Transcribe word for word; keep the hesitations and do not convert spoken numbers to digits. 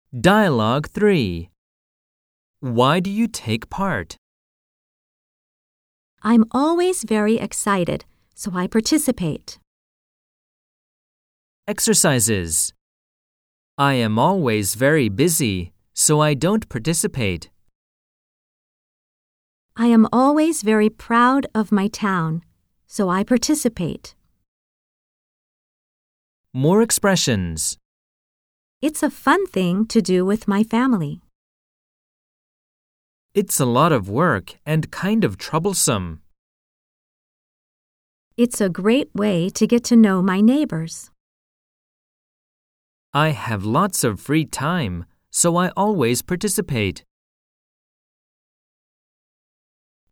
Dialogue three. Why do you take part? I'm always very excited, so I participate. Exercises. I am always very busy, so I don't participate. I am always very proud of my town, so I participate. More expressions. It's a fun thing to do with my family. It's a lot of work and kind of troublesome. It's a great way to get to know my neighbors. I have lots of free time, so I always participate.